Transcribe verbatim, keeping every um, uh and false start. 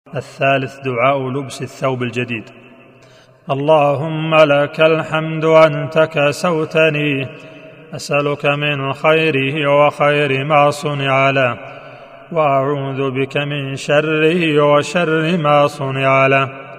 الثالث دعاء لبس الثوب الجديد: اللهم لك الحمد أنت كسوتني، أسألك من خيره وخير ما صنع له، وأعوذ بك من شره وشر ما صنع له.